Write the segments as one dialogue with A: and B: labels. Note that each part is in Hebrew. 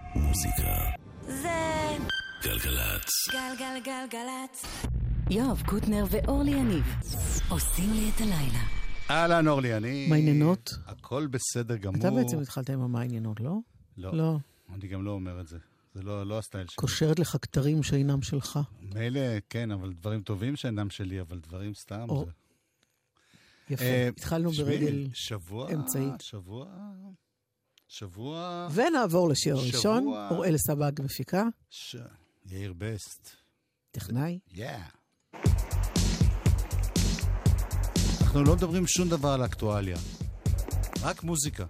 A: מוזיקה
B: זה
A: גלגלצ.
B: גלגלגלגלצ. יואב קוטנר ואורלי יניב עושים לי את הלילה.
C: אהלן אורלי, אני...
D: מה עניינות?
C: הכל בסדר גמור.
D: אתה בעצם התחלת עם מה עניינות, לא?
C: לא. אני גם לא אומר את זה. זה לא הסטייל שלי.
D: קושרת לך כתרים שאינם שלך.
C: מילא, כן, אבל דברים טובים שאינם שלי, אבל דברים סתם. זה...
D: יפה. התחלנו ברגל אמצעית.
C: שבוע...
D: ונעבור לשיר הראשון. אוראל סבג מפיקה.
C: יאיר בסט.
D: טכנאי.
C: אנחנו לא מדברים שום דבר על אקטואליה. רק מוזיקה.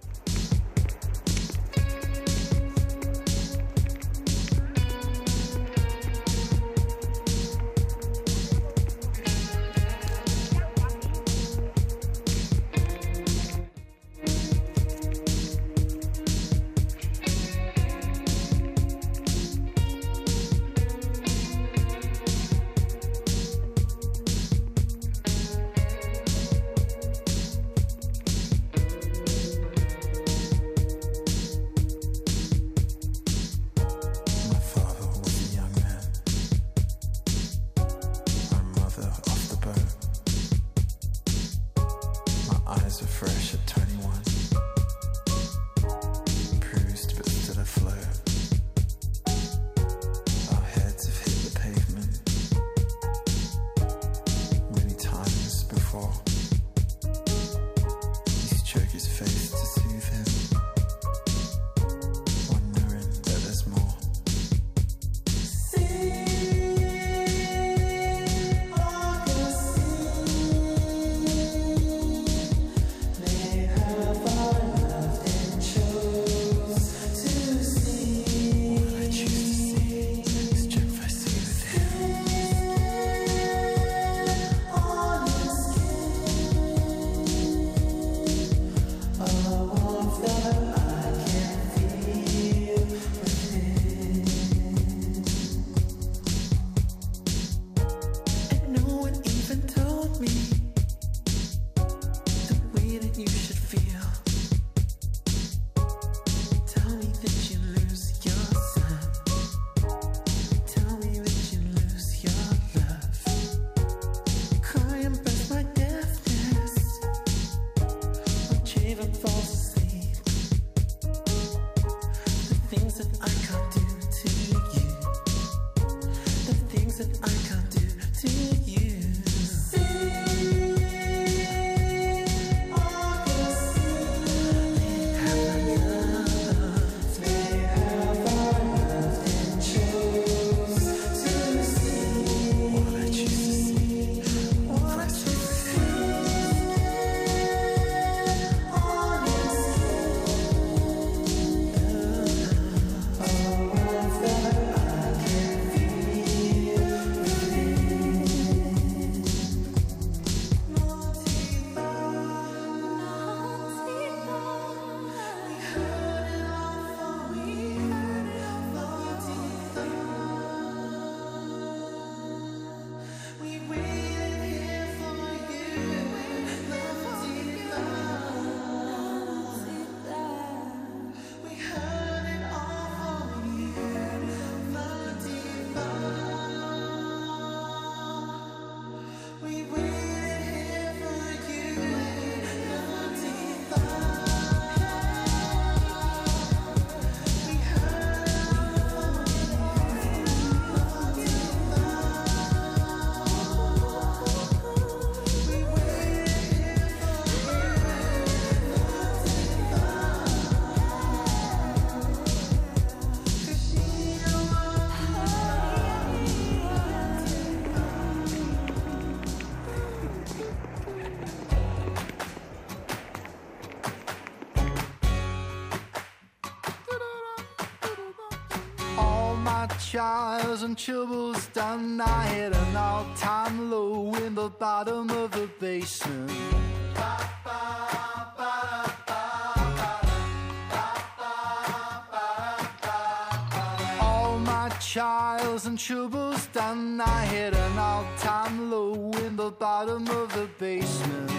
E: Trials and troubles done, I hit an all-time low in the bottom of the basement. All my trials and troubles done, I hit an all-time low in the bottom of the basement.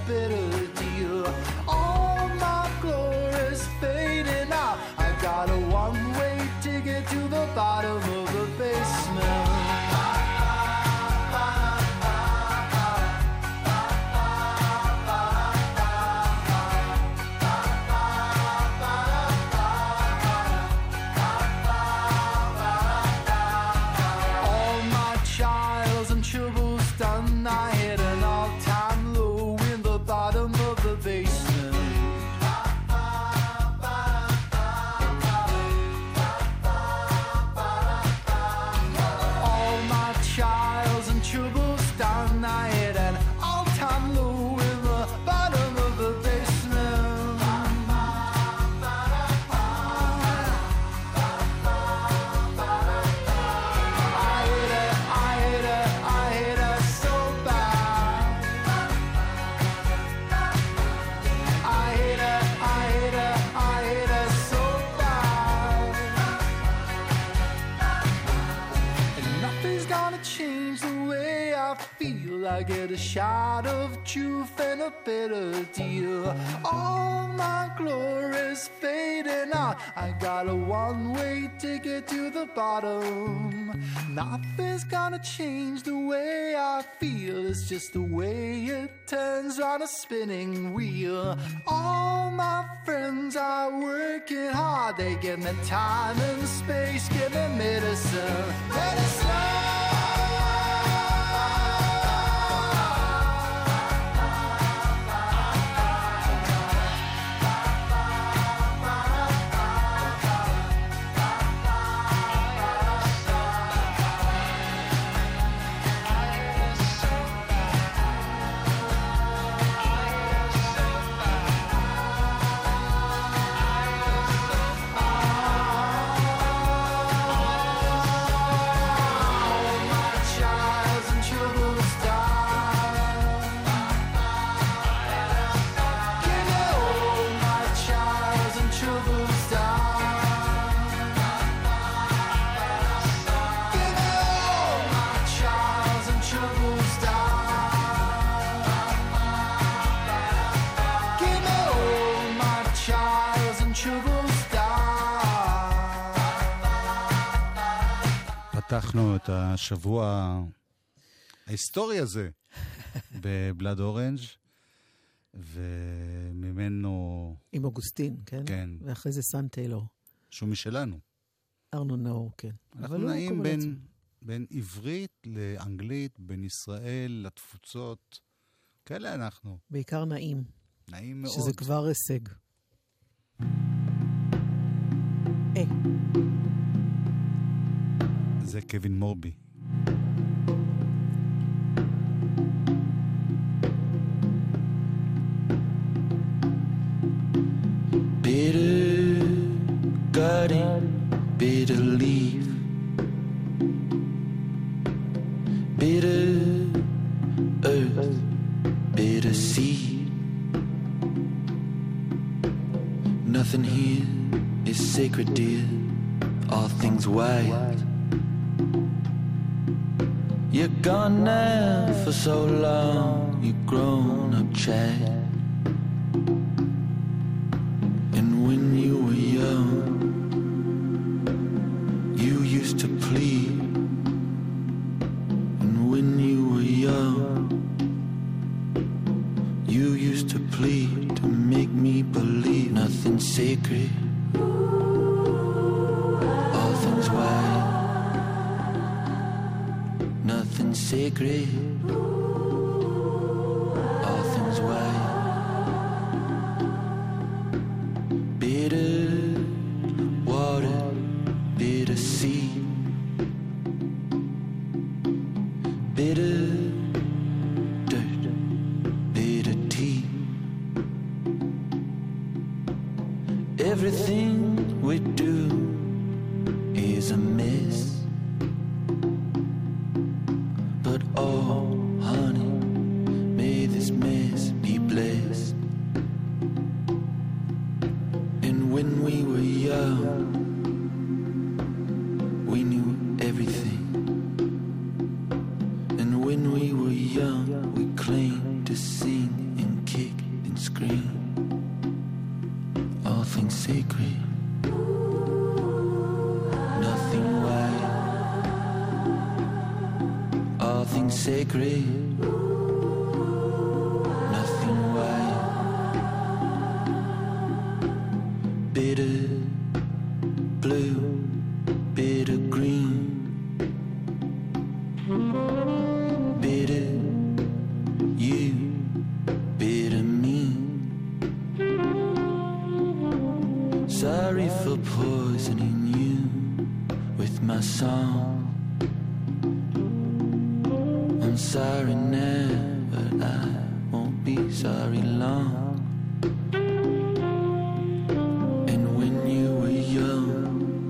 E: bitter deal. All my glory's fading out. I got a one-way ticket to the bottom of the basement. I get a shot of truth and a bitter deal. All my glory's fading out. I got a one-way ticket to the bottom. Nothing's gonna change the way I feel. It's just the way it turns on a spinning wheel. All my friends are working hard. They give me time and space, give me medicine. Medicine!
C: פתחנו את השבוע ההיסטורי הזה בבלאד אורנג' וממנו...
D: עם אוגוסטין, כן?
C: כן.
D: ואחרי זה סן טיילור.
C: שהוא משלנו.
D: ארנו נאור, כן.
C: אנחנו נעים בין עברית לאנגלית, בין ישראל לתפוצות. כאלה אנחנו.
D: בעיקר נעים.
C: נעים מאוד.
D: שזה כבר הישג.
C: זה קווין מורבי.
A: Bitter gutting, bitter leaf, bitter earth, bitter seed. Nothing here is sacred, dear. All things wild. You're gone now for so long, you've grown up, child. And when you were young, you used to plead. And when you were young, you used to plead to make me believe nothing's sacred. All things wild. Nothing's sacred. All things wild. Bitter water, bitter sea, bitter dirt, bitter tea. Everything we do is a mess. But oh, sacred, nothing white, bitter blue, bitter green, bitter you, bitter me. Sorry for poisoning you with my song. I'm sorry now, but I won't be sorry long. And when you were young,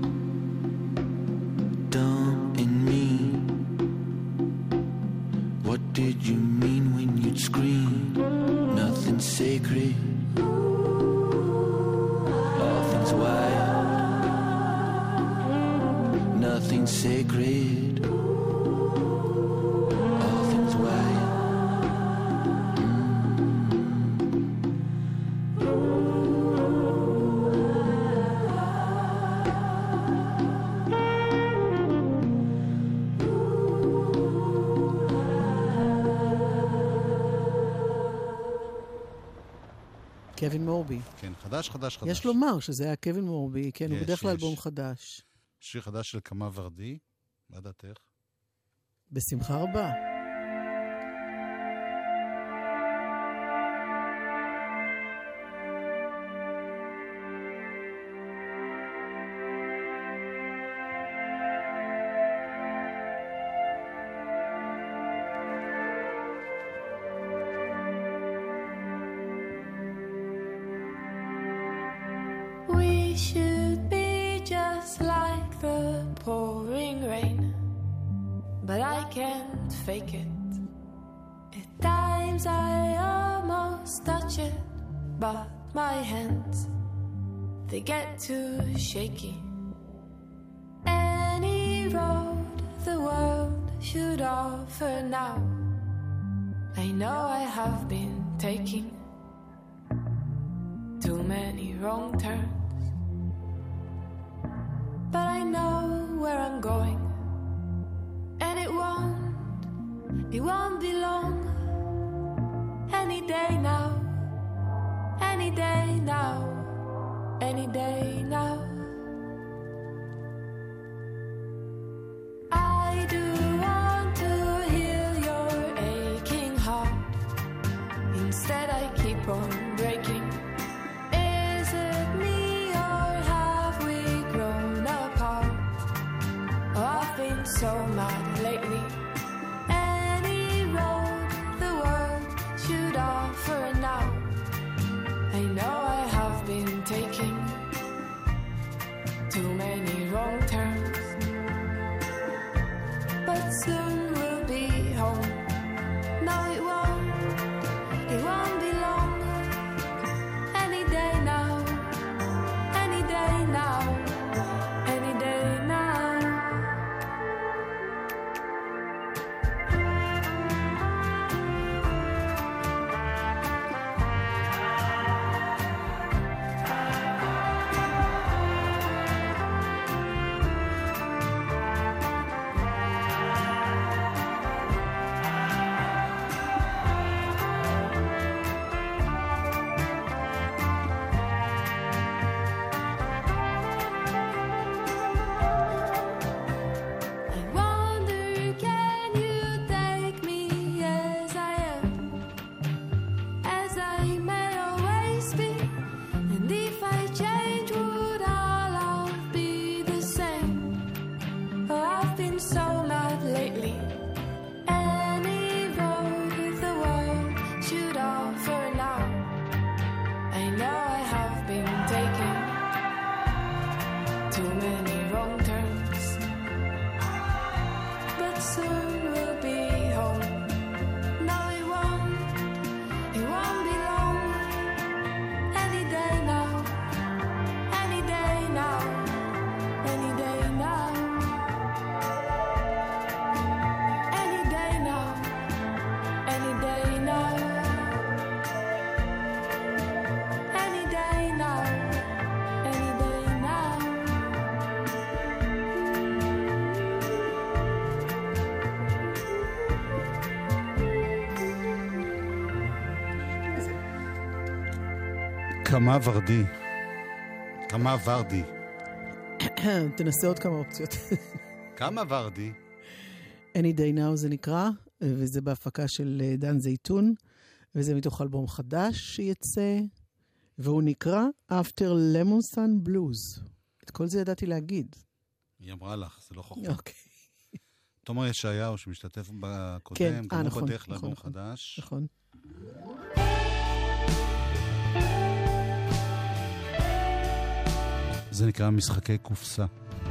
A: dumb and mean, what did you mean when you'd scream? Nothing sacred, all things wild, nothing sacred.
D: קווין מורבי.
C: כן, חדש.
D: יש לומר שזה היה קווין מורבי, כן, הוא בדרך כלל אלבום חדש.
C: שיר חדש של קמה ורדי, מה דעתך?
D: בשמחה רבה.
F: Fake it. At times I almost touch it, but my hands, they get too shaky. Any road the world should offer now, I know I have been taking too many wrong turns, but I know where I'm going, and it won't be long. Any day now, any day now, any day now. I do want to heal your aching heart. Instead I keep on breaking. Is it me or have we grown apart? Oh, I've been so mad lately. For now, I know I have been taking too many wrong turns, but soon we'll be home. No, it won't be long. Any day now, any day now, any day now.
C: כמה ורדי. כמה ורדי.
D: תנסה עוד כמה אופציות.
C: כמה ורדי.
D: Any Day Now זה נקרא, וזה בהפקה של דן זייתון, וזה מתוך אלבום חדש שיצא, והוא נקרא After Lemon Sun Blues. את כל זה ידעתי להגיד.
C: היא אמרה לך, זה לא חוכמה.
D: אוקיי.
C: תומר ישעיהו שמשתתף בקודם,
D: כן,
C: גם
D: נכון,
C: הוא בדרך
D: נכון,
C: לאלבום
D: נכון.
C: חדש.
D: נכון.
C: זה נקרא משחקי קופסה.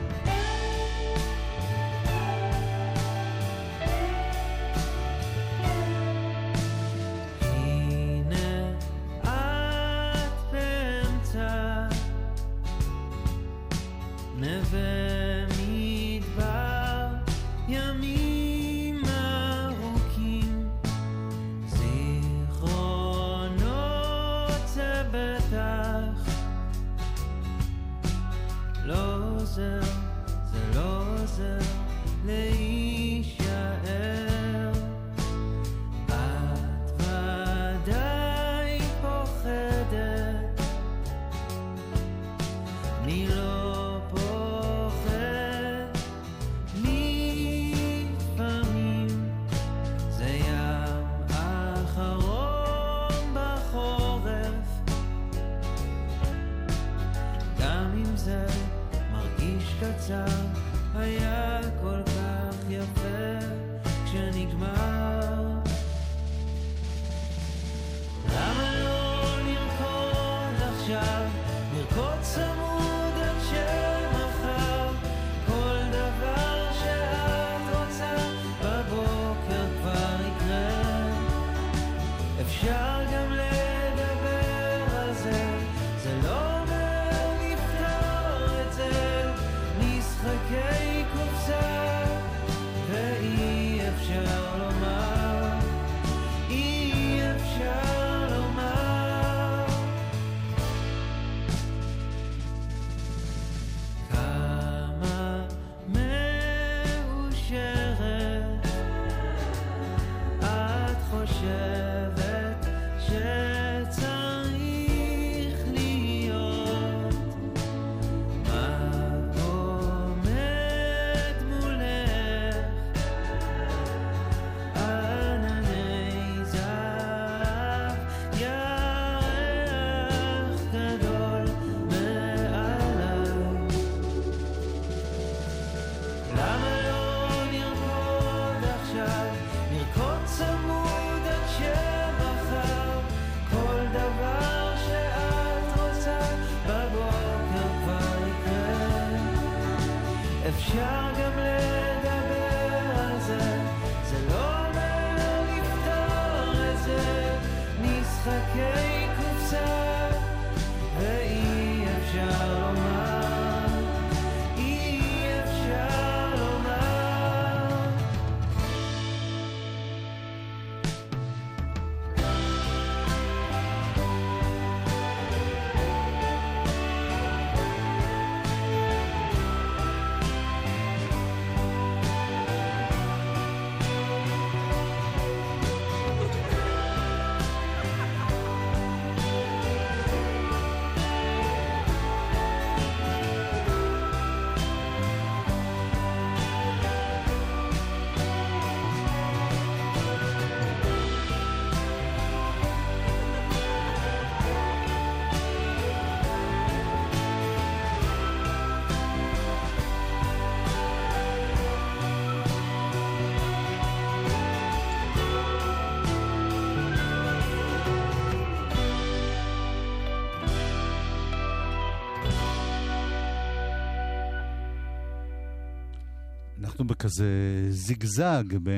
C: אנחנו בכזה זיגזג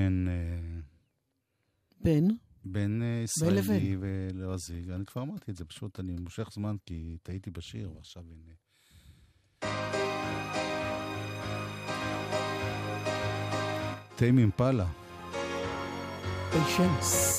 C: בין ישראלי ולועזי. אני כבר אמרתי את זה, פשוט אני מושך זמן כי טעיתי בשיר, ועכשיו הנה. טיימ אימפלה.
D: פיישנס.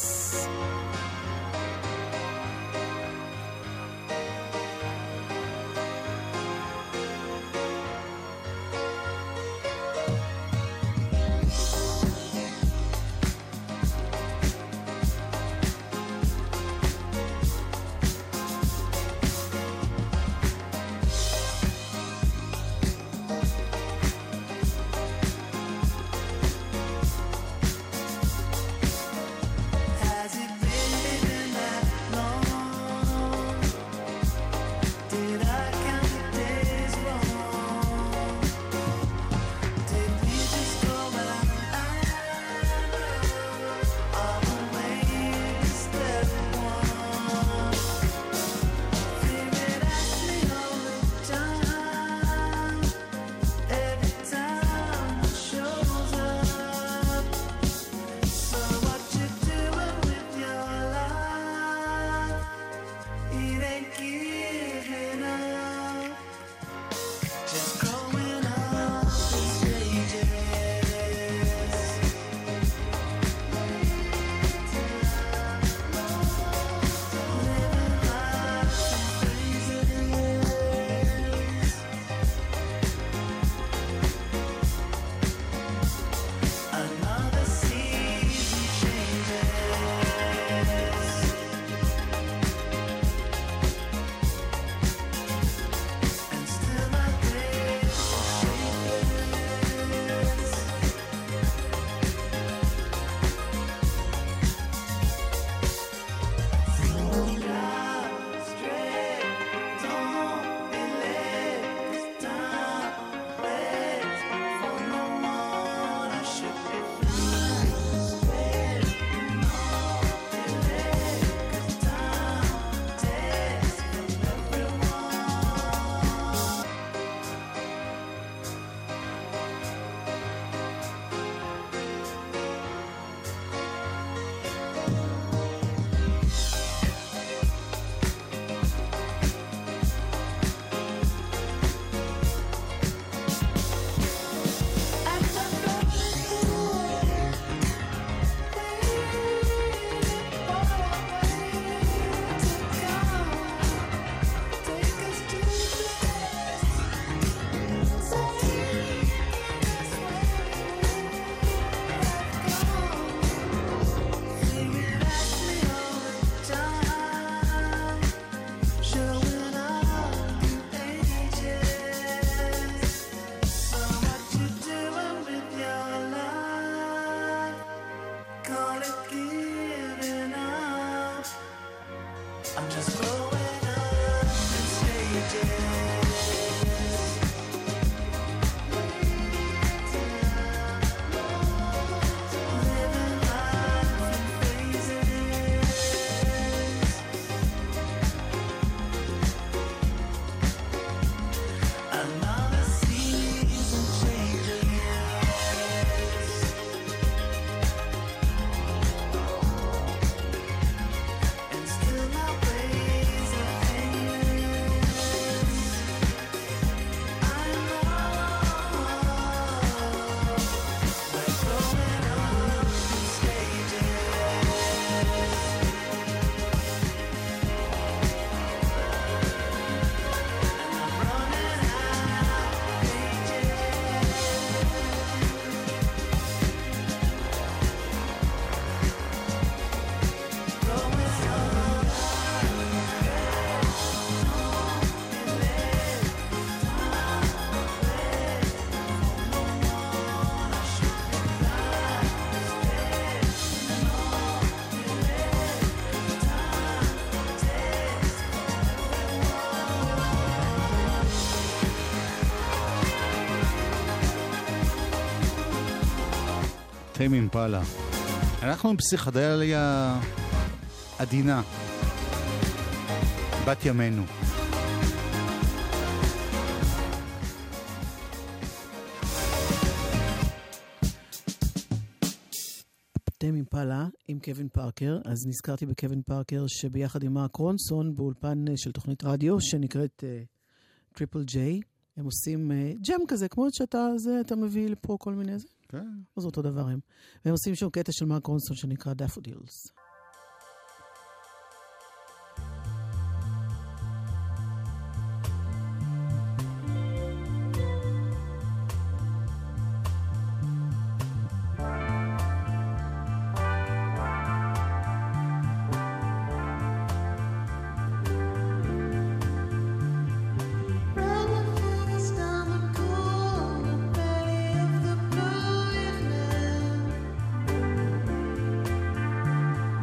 C: טיים אימפלה. אנחנו עם פסיכדליה עדינה. בת ימינו.
D: טיים אימפלה עם קווין פארקר. אז נזכרתי בקווין פארקר שביחד עם מארק רונסון באולפן של תוכנית רדיו שנקראת טריפל ג'יי. הם עושים ג'ם כזה, כמו שאתה מביא לפה כל מיני זה.
C: כן.
D: אז אותו דבר הם. והם עושים שם קטע של מארק רונסון שנקרא דאפודילס.
G: Cool, the belly of the blue evening.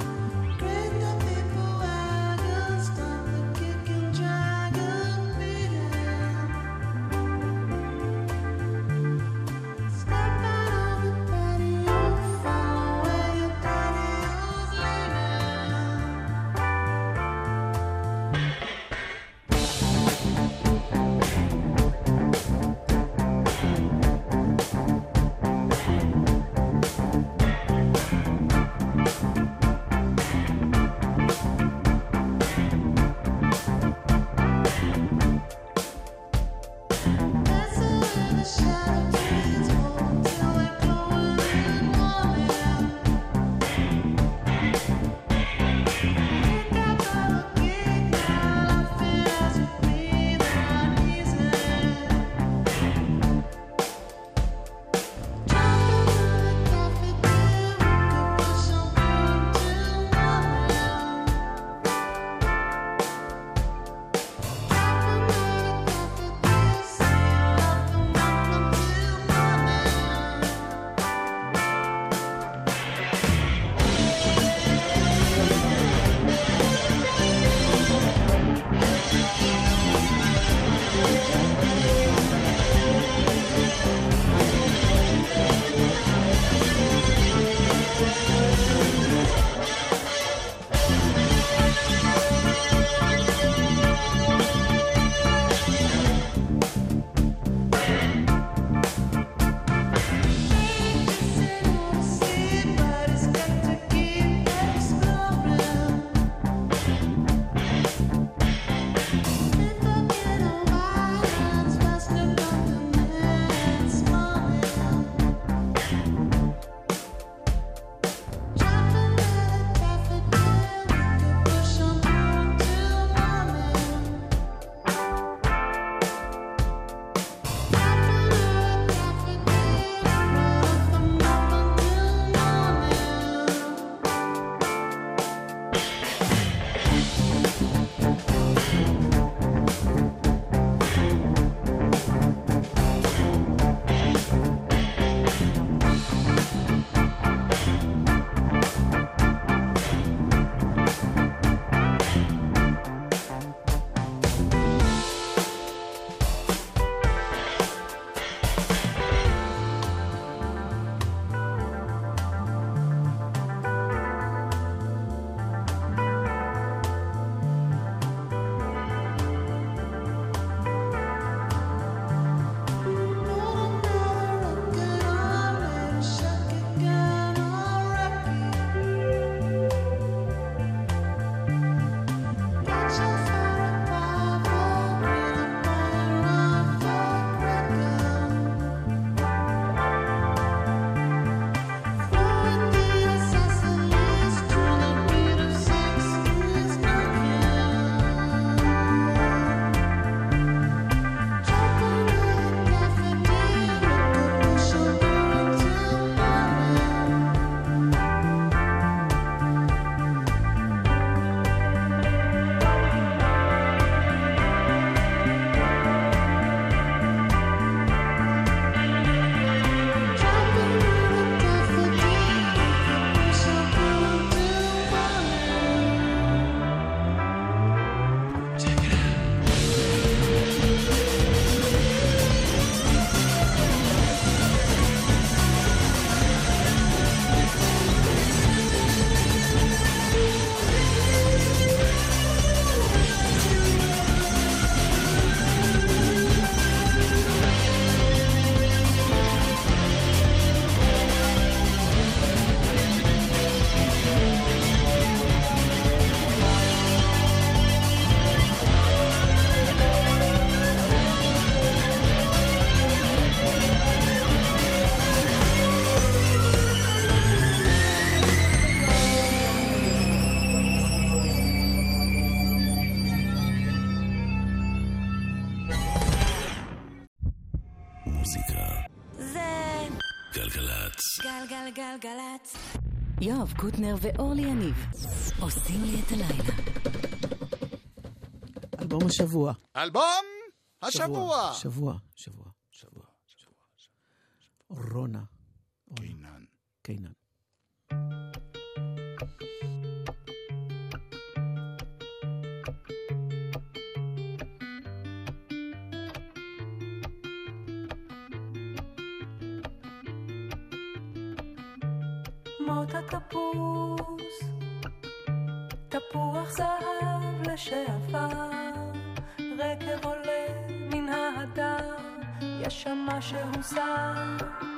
G: גלגלצ.
B: גלגלגלגלצ. יואב קוטנר ואורלי יניב עושים לי את הלילה.
D: אלבום השבוע.
C: אלבום השבוע.
D: שבוע. רונה. קיינן.
F: מות התפוס, תפוח זהב לשעבר, רקב עולה מן ההדר, יש שם משהו זר.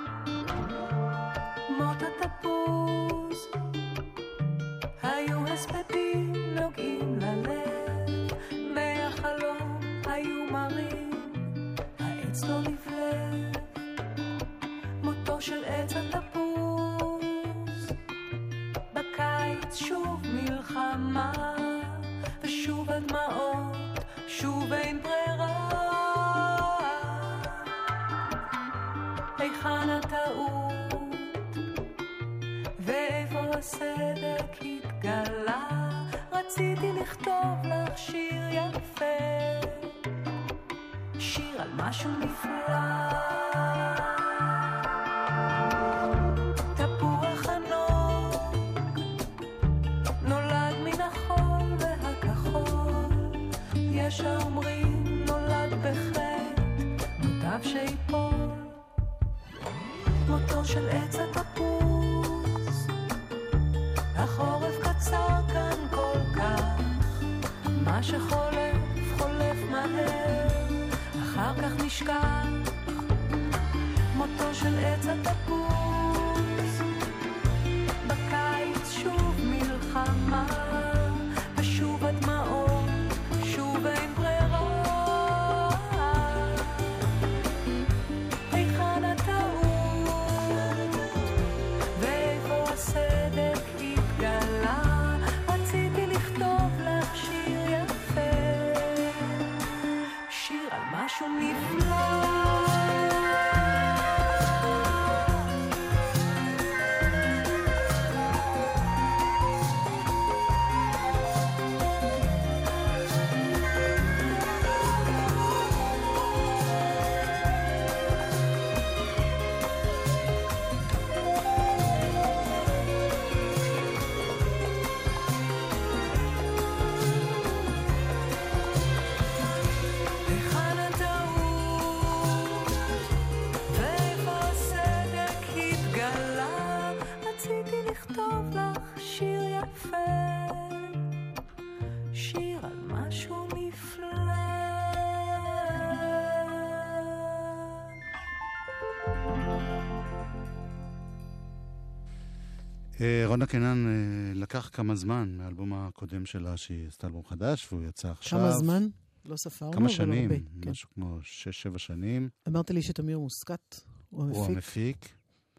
F: מות התפוס, היו הספדים נוגעים ללב, מהחלום היו מרים, העץ לא לבלב. מותו של עץ התפוס, שוב מלחמה ושוב הדמעות, שוב אין ברירה. היכן הטעות ואיפה הסדק התגלה? רציתי לכתוב לך שיר יפה, שיר על משהו נפלא. יש האומרים נולד בחטא, מוטב שיפול. מותו של עץ התפוס, החורף קצר כאן כל כך, מה שחולף חולף מהר, אחר כך נשכח. מותו של עץ התפוס, בקיץ שוב מלחמה ושוב הדמעות, שוב אין ברירה. היכן הטעות ואיפה הסדק התגלה? רציתי לכתוב לך שיר יפה, שיר על משהו נפלא.
C: רונה קיינן לקח כמה זמן מהאלבום הקודם שלה, שהיא עשתה אלבום חדש, והוא יצא עכשיו.
D: כמה זמן? לא ספרנו,
C: כמה שנים,
D: כן.
C: משהו כמו 6-7 שנים.
D: אמרת לי שתמיר מוסקת, הוא המפיק.
C: הוא המפיק.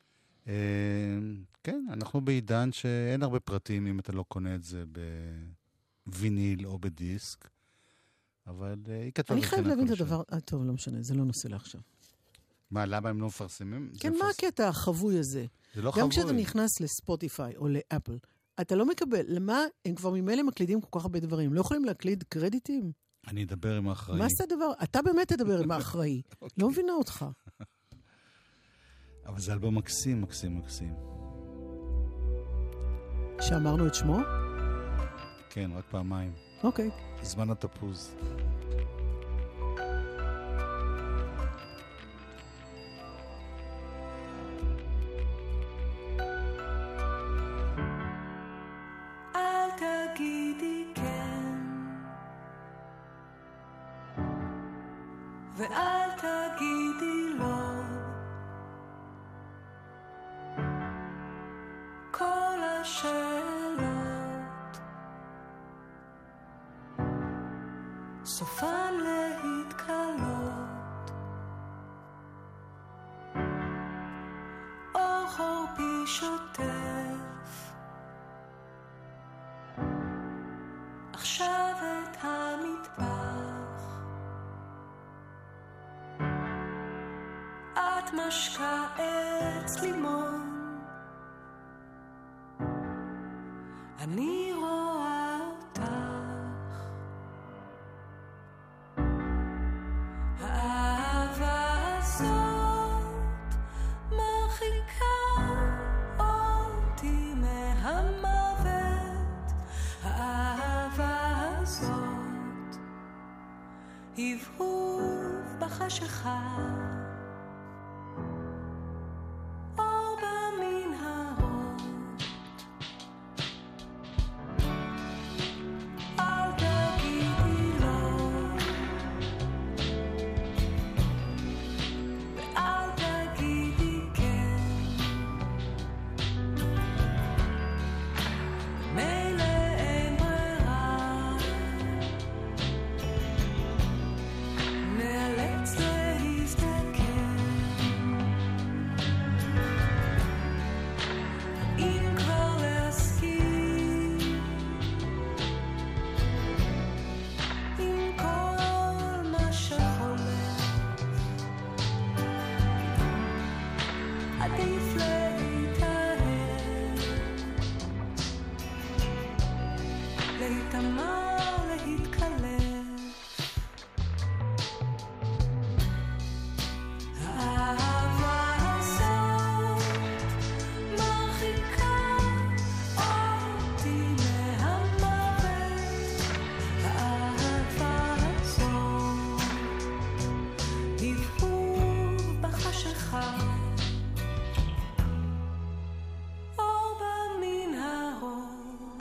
C: כן, אנחנו בעידן שאין הרבה פרטים אם אתה לא קונה את זה בוויניל או בדיסק, אבל היא כתבה...
D: אני חייב להבין את הדבר, טוב, לא משנה, זה לא נושא לעכשיו.
C: מה, למה הם לא מפרסמים?
D: כן, מה הקטע החבוי הזה?
C: זה לא חבוי.
D: גם כשאתה נכנס לספוטיפיי או לאפל, אתה לא מקבל, למה הם כבר ממילא מקלידים כל כך הרבה דברים? לא יכולים להקליד קרדיטים?
C: אני אדבר עם האחראי.
D: מה זה הדבר? אתה באמת תדבר עם האחראי. לא מבינה אותך.
C: אבל זה אלבום מקסים, מקסים, מקסים.
D: שאמרנו את שמו?
C: כן, רק פעמיים.
D: אוקיי.
C: זמן התפוז.
F: ואל תגידי לא, כל השאלות סופן להתקלות, אור חורפי שוטף עכשיו את המטבח, את משקה עץ לימון. אני רואה אותך, האהבה הזאת מרחיקה אותי מהמוות. האהבה הזאת הבהוב בחשיכה, אור במנהרות. אל תגידי לא ואל תגידי כן, מילא אין ברירה, נאלץ להסתכל. אם כבר להסכים עם כל מה שחולף, עדיף להתאהב, להתאמר, להתקלף. האהבה הזאת מרחיקה אותי מהמוות. האהבה הזאת הבהוב בחשיכה, אור במנהרות.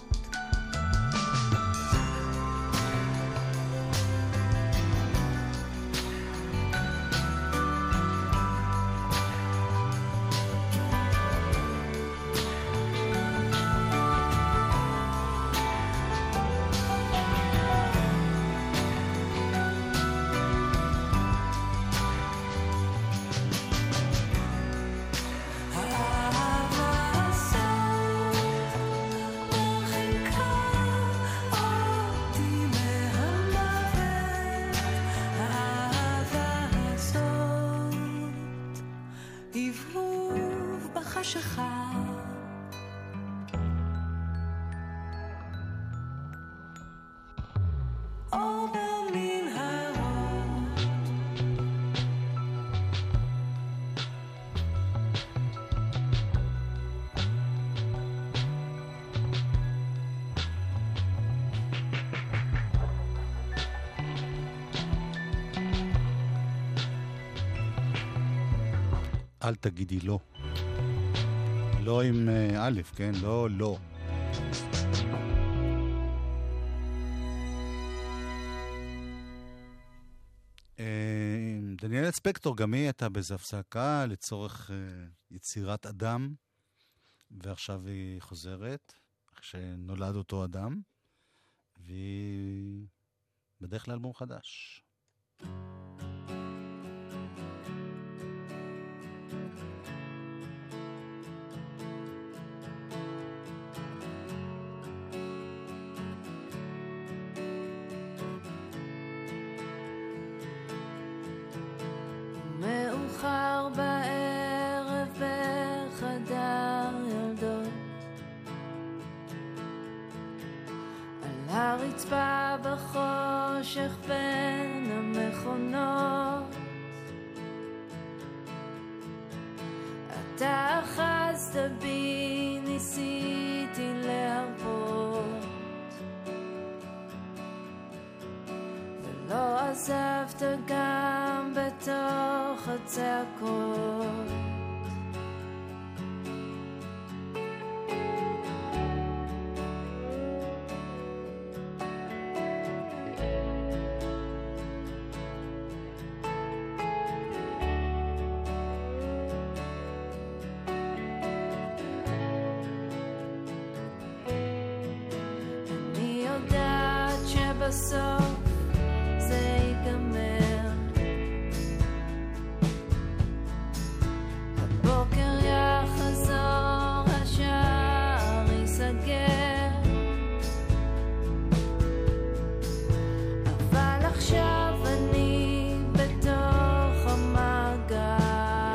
F: האהבה הזאת מרחיקה אותי מהמוות. האהבה הזאת הבהוב בחשיכה, אור במנהרות.
C: אל תגידי לא. לא עם א', כן? לא, לא. דניאל ספקטור, גם היא הייתה באיזו הפסקה לצורך יצירת אדם, ועכשיו היא חוזרת, כשנולד אותו אדם, והיא בדרך לאלבום חדש.
F: מאוחר בערב בחדר ילדות, על הרצפה בחושך בין המכונות, אתה אחזת בי, ניסיתי להרפות, ולא עזבת גם בתוך הצעקות. אני יודעת שבסוף זה ייגמר, הבוקר יחזור, השער ייסגר, אבל עכשיו אני בתוך המעגל.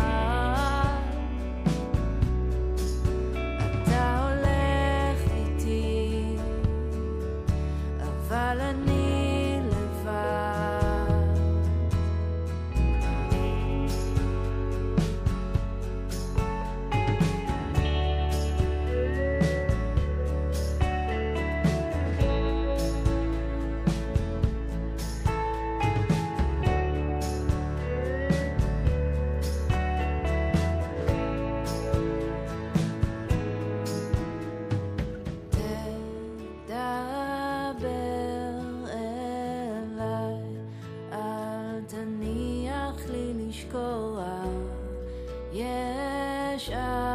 F: יש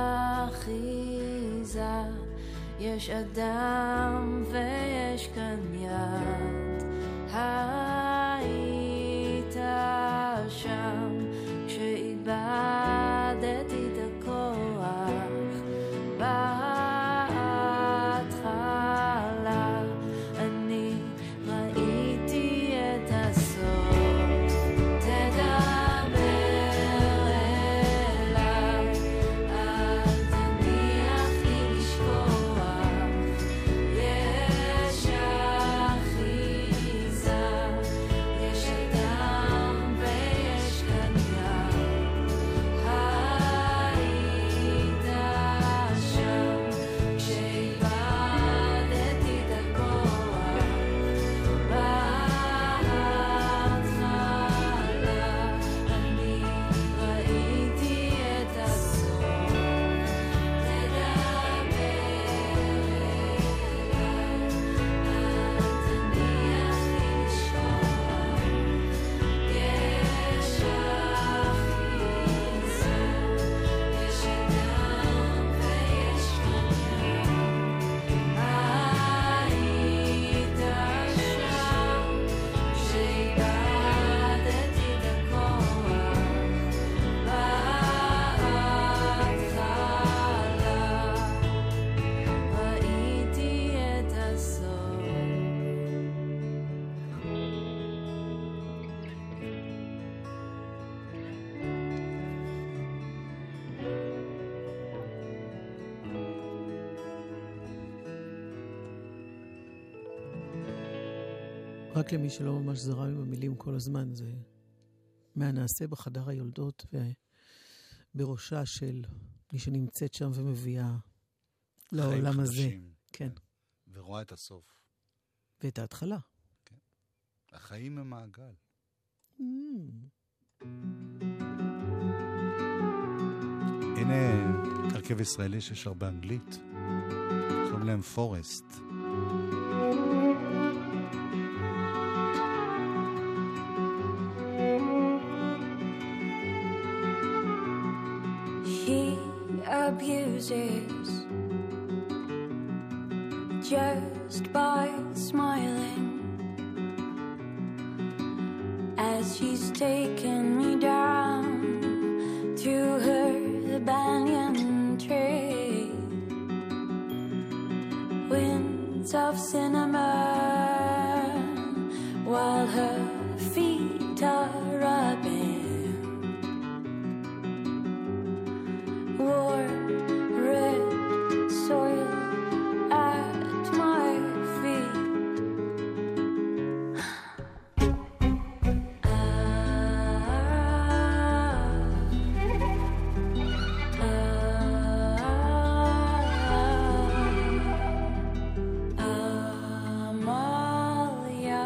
F: אחיזה, יש אדם ויש כאן יד. היית שם כשאיבדתי את הכוח בהתחלה, אני ראיתי את הסוף. תדבר אליי, אל תניח לי לשכוח, יש אחיזה, יש אדם ויש כאן יד. היית שם כשאיבדתי את הכוח בהתחלה, אני ראיתי את הסוף. תדבר אליי, אל תניח לי לשכוח, יש אחיזה, יש אדם ויש כאן יד. היית שם כשאיבדתי את הכוח בהתחלה, ראיתי את הסוף.
D: רק למי שלא ממש זרם עם המילים כל הזמן, זה מהנעשה בחדר היולדות ובראשה של מי שנמצאת שם ומביאה לעולם הזה.
C: חדשים.
D: כן,
C: ורואה את הסוף.
D: ואת ההתחלה.
C: החיים הם מעגל. הנה הרכב ישראלי ששר באנגלית. קוראים להם פורסט.
F: He abuses just by smiling as she's taken me down to her banyan tree. Winds of cinnamon while her feet are rubbing warm red soil at my feet. Amalia,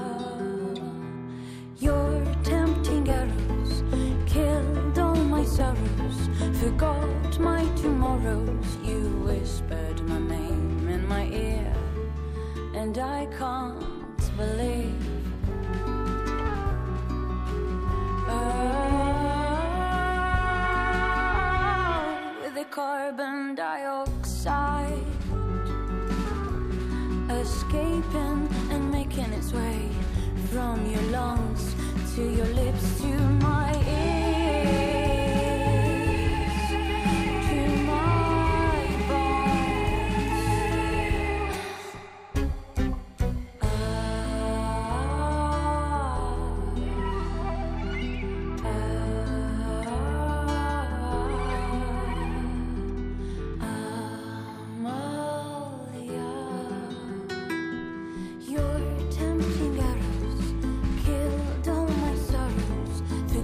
F: your tempting arrows killed all my sorrows, forgot my tomorrows. You whispered my name in my ear, and I can't believe. With the carbon dioxide escaping and making its way from your lungs to your lips to my ears, to my bones. Amalia, your tempting arrows killed all my sorrows,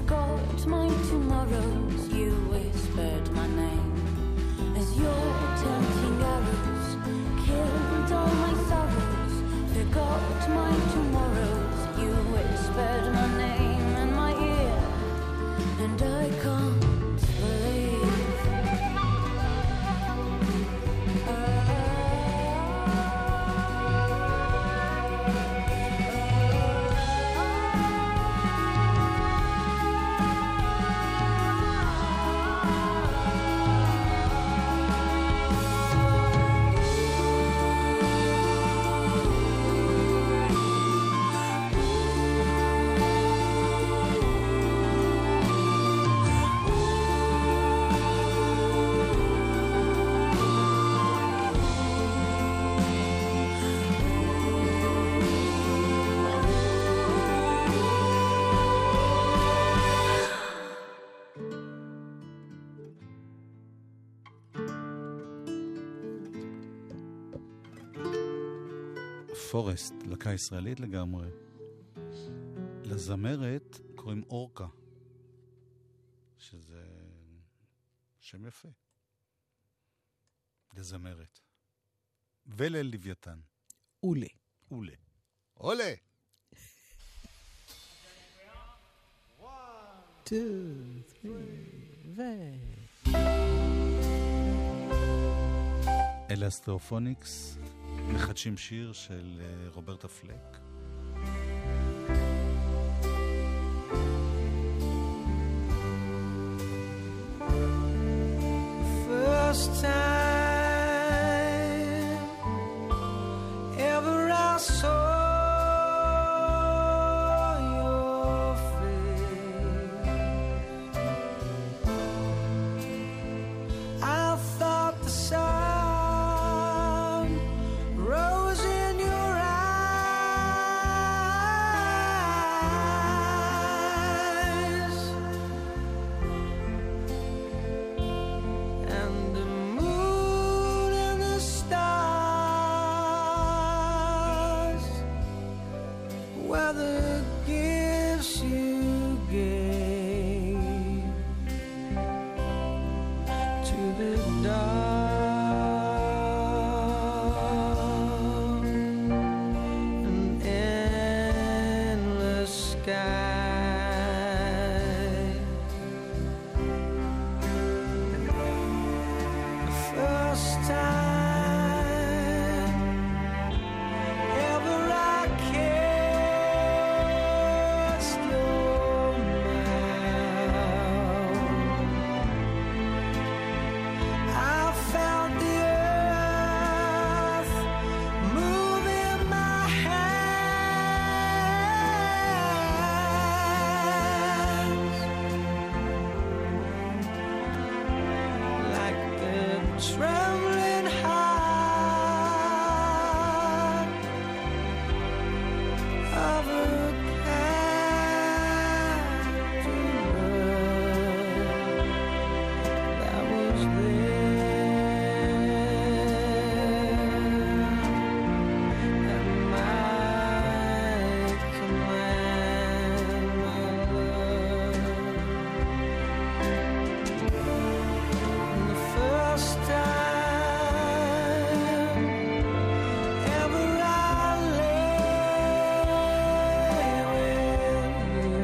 C: פורסט, להקה ישראלית לגמרי. לזמרת קוראים אורקה, שזה שם יפה. לזמרת. וללוויתן.
D: אולה.
C: אולה. אולה!
D: 2, 3,
C: אלה אסטרופוניקס, מחדשים שיר של רוברטה פלק.
E: First time ever I saw your face, I thought the sun rose in your eyes, and the moon and the stars were the gifts you gave to the dark and endless sky. The first time ever I kissed your mouth, I felt the earth move in my hands, like a trembling heart of a captive bird that was there at my command, my love. And the first time ever I lay with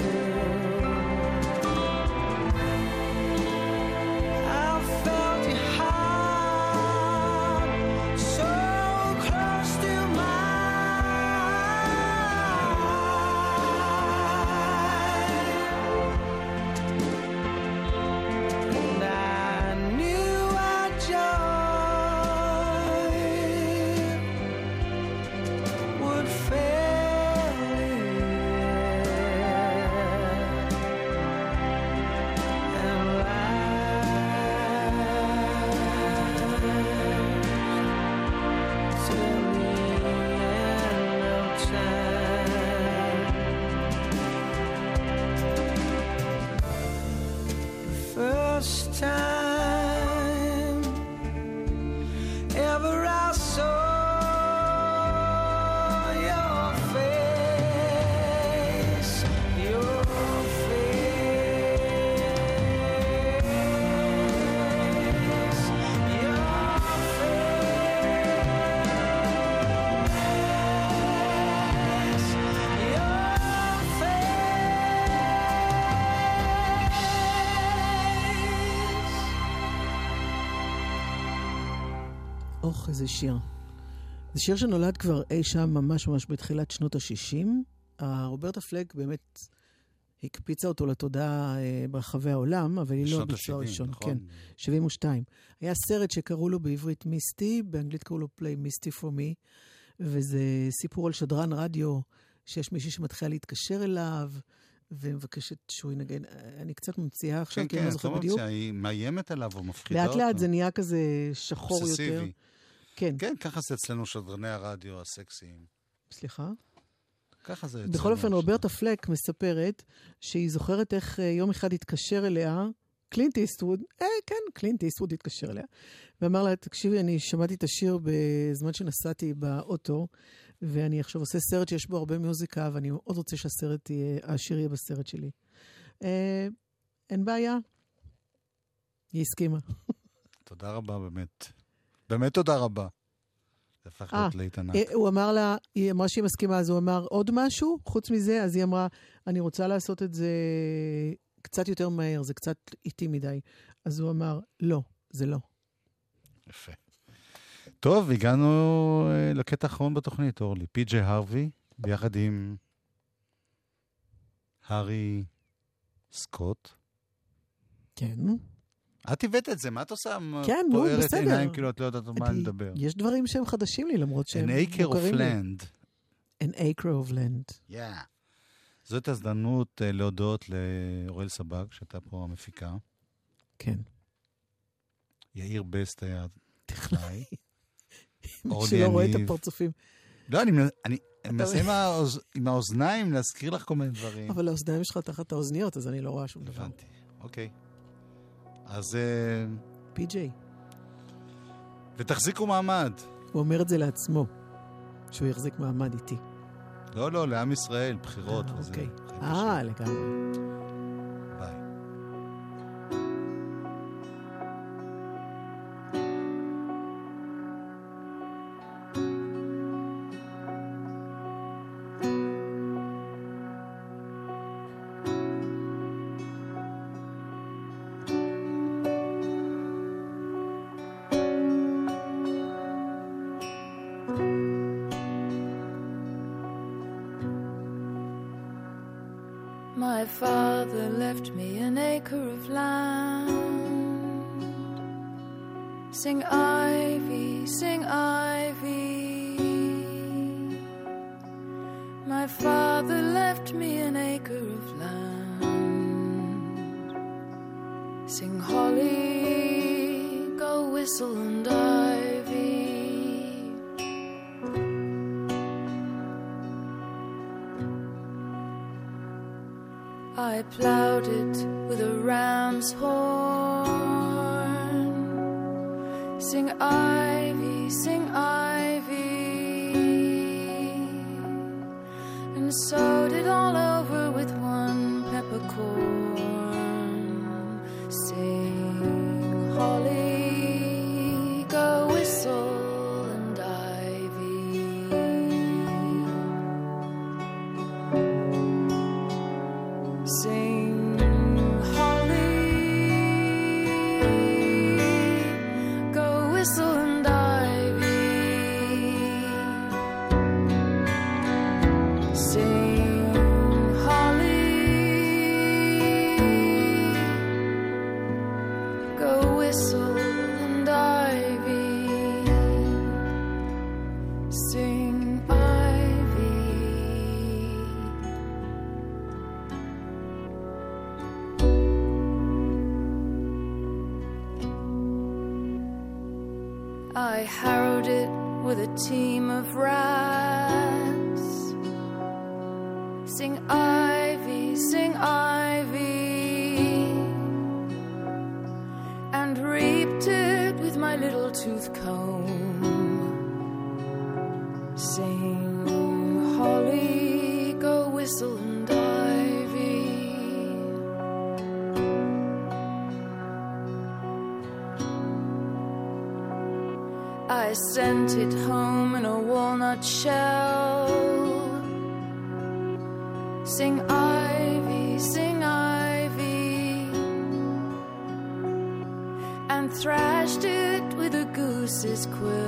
E: you, I felt your heart so close to mine, and I knew our joy would fail and last till the end of time. The first time ever I saw your face, your face, your face, your face.
D: אוח, איזה שיר. זה שיר שנולד כבר אי שם ממש ממש בתחילת שנות ה-60. רוברטה פלק באמת הקפיצה אותו לתודעה ברחבי העולם, אבל היא לא
C: בשנות
D: הביצוע
C: ה-70,
D: הראשון.
C: נכון?
D: כן, 72. היה סרט שקראו לו בעברית מיסטי, באנגלית קראו לו Play Misty for Me, וזה סיפור על שדרן רדיו, שיש מישהי שמתחילה להתקשר אליו, ומבקשת שהוא ינגן. אני קצת ממציאה עכשיו,
C: כן,
D: כי אני
C: כן,
D: לא
C: את
D: זוכר
C: לא
D: בדיוק.
C: ממציאה, היא מאיימת עליו או מפחידה אותו.
D: לאט לאט זה נהיה כזה שחור יותר.
C: אובססיבי.
D: כן,
C: כן, ככה זה אצלנו שדרני הרדיו הסקסיים.
D: סליחה.
C: ככה זה אצלנו.
D: בכל אופן,
C: עכשיו.
D: רוברטה פלק מספרת שהיא זוכרת איך יום אחד התקשר אליה, קלינט איסטווד, כן, קלינט איסטווד התקשר אליה, ואמר לה, תקשיבי, אני שמעתי את השיר בזמן שנסעתי באוטו, ואני עכשיו עושה סרט שיש בו הרבה מוזיקה, ואני מאוד רוצה שהשיר יהיה בסרט שלי. אין בעיה. היא הסכימה.
C: תודה רבה, באמת. באמת תודה רבה. זה הפך להיות להיט ענק.
D: הוא אמר לה, היא אמרה שהיא מסכימה, אז הוא אמר עוד משהו, חוץ מזה, אז היא אמרה, אני רוצה לעשות את זה קצת יותר מהר, זה קצת איטי מדי. אז הוא אמר, לא, זה לא.
C: יפה. טוב, הגענו לקטע האחרון בתוכנית, אורלי. פי.ג'יי הרווי, ביחד עם הארי סקוט.
D: כן.
C: את הבאת את זה, מה את עושה?
D: כן, נו, בסדר.
C: פוערת עיניים, כאילו את לא יודעת מה לדבר.
D: יש דברים שהם חדשים לי, למרות שהם
C: An acre of
D: מוכרים לי.
C: land.
D: An acre of land.
C: Yeah. זאת הזדמנות להודות לאורל סבג, שהייתה פה המפיקה.
D: כן.
C: יאיר בסט היה טכנאי.
D: שלא רואה את הפרצופים.
C: לא, אני מנסה עם האוזניים להזכיר לך כל מיני דברים.
D: אבל האוזניים שלך תחת האוזניות, אז אני לא רואה שום דבר.
C: הבנתי, אוקיי. אז...
D: פי.ג'יי.
C: ותחזיקו מעמד.
D: הוא אומר את זה לעצמו, שהוא יחזיק מעמד איתי.
C: לא, לעם ישראל, בחירות וזה.
D: אוקיי. לגמרי.
C: ביי.
F: My father left me an acre of land. Sing ivy, sing ivy. My father left me an acre of land. Sing holly, go whistle and ivy. I plowed it with a ram's horn. Sing ivy, sing ivy. And sowed it all over with one peppercorn. Sing holly, go whistle and ivy. Sing holly, go whistle and ivy. Sing holly, go whistle and ivy. Sing ivy. I harrowed it with a team of rats. Sing ivy, sing ivy. And reaped it with my little tooth comb. Sing holly, go whistle and ivy. I sent it home in a walnut shell. Sing ivy, sing ivy. And thrashed it with a goose's quill.